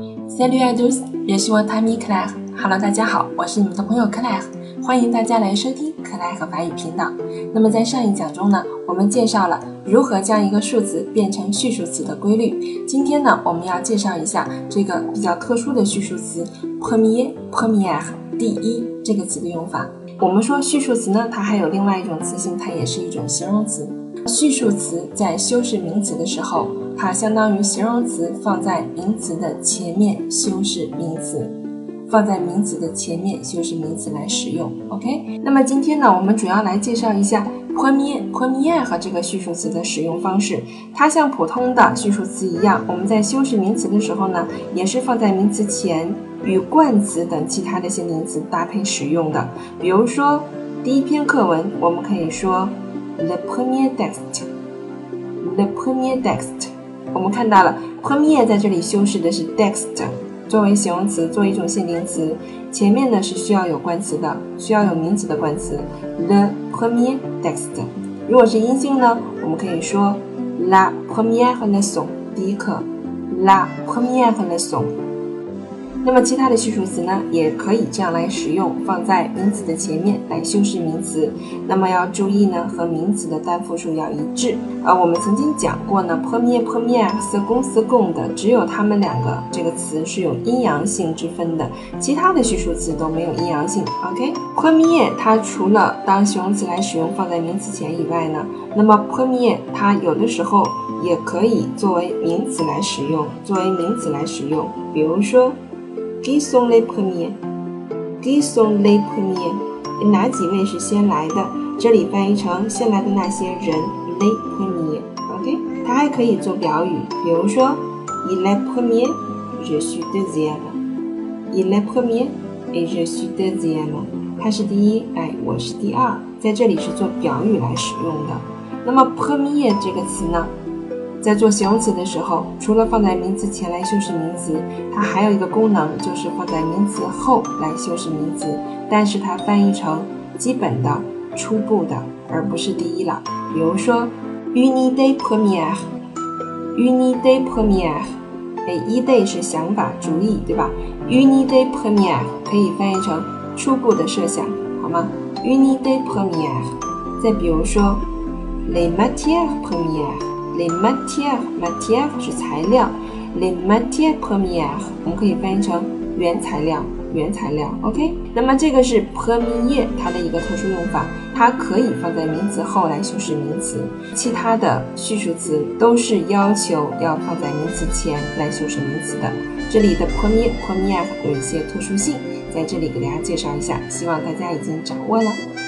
Salut à tous, je suis votre ami Claire。Hello， 大家好，我是你们的朋友 Claire， 欢迎大家来收听克莱和法语频道。那么在上一讲中呢，我们介绍了如何将一个数词变成序数词的规律。今天呢，我们要介绍一下这个比较特殊的序数词 première 第一这个词的用法。我们说序数词呢，它还有另外一种词性，它也是一种形容词。序数词在修饰名词的时候，它相当于形容词放在名词的前面修饰名词，放在名词的前面修饰名词来使用。 OK， 那么今天呢，我们主要来介绍一下 première 和这个序数词的使用方式。它像普通的序数词一样，我们在修饰名词的时候呢，也是放在名词前与冠词等其他的限定词搭配使用的。比如说第一篇课文，我们可以说 le premier texte， le premier texte。 我们看到了 premier 在这里修饰的是 texte 作为形容词，作为一种限定词，前面呢是需要有冠词的，需要有名词的冠词 le premier texte。 如果是阴性呢，我们可以说 la première leçon， 第一课 la première leçon。 那么其他的序数词呢，也可以这样来使用，放在名词的前面来修饰名词。那么要注意呢，和名词的单复数要一致。我们曾经讲过呢 première second 的，只有它们两个这个词是有阴阳性之分的，其他的序数词都没有阴阳性。 OK， première 它除了当形容词来使用放在名词前以外呢，那么 première 它有的时候也可以作为名词来使用，比如说Qui sont les premiers？ Qui sont les premiers？ 哪几位是先来的？这里翻译成先来的那些人 les premiers。 OK， 它还可以做表语，比如说 Il est premier, je suis deuxième。 Il est premier et je suis deuxième。 他是第一，我是第二，在这里是做表语来使用的。那么 premier 这个词呢，在做形容词的时候，除了放在名词前来修饰名词，它还有一个功能，就是放在名词后来修饰名词，但是它翻译成基本的、初步的，而不是第一了。比如说 une idée première， une idée première， idée 是想法、主意，对吧？ une idée première 可以翻译成初步的设想，好吗？ une idée première。 再比如说 les matières premières，Les matières 是材料 Les matières premières 我们可以翻译成原材料 OK， 那么这个是 premier 它的一个特殊用法，它可以放在名词后来修饰名词，其他的序数词都是要求要放在名词前来修饰名词的。这里的 première 有一些特殊性，在这里给大家介绍一下，希望大家已经掌握了。